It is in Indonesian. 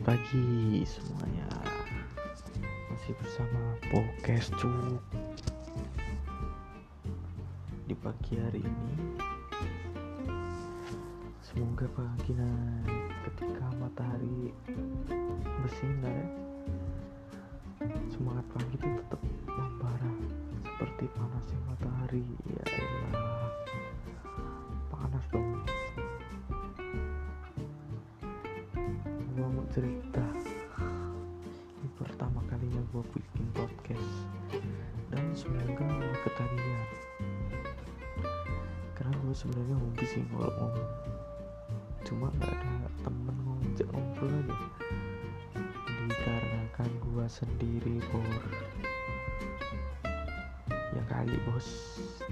pagi semuanya, masih bersama podcast Cuk. Di pagi hari ini, semoga pagi ketika matahari bersinar ya, semangat pagi itu tetap membara seperti panasnya matahari. Ya elah, panas dong. Gue mau cerita, ini pertama kalinya gue bikin podcast dan semoga gak ketagihan, karena gue sebenarnya hobi sih kalau ngomong, cuma gak ada temen ngajak ngobrol aja. Dikarenakan gue sendiri bor, ya kali bos.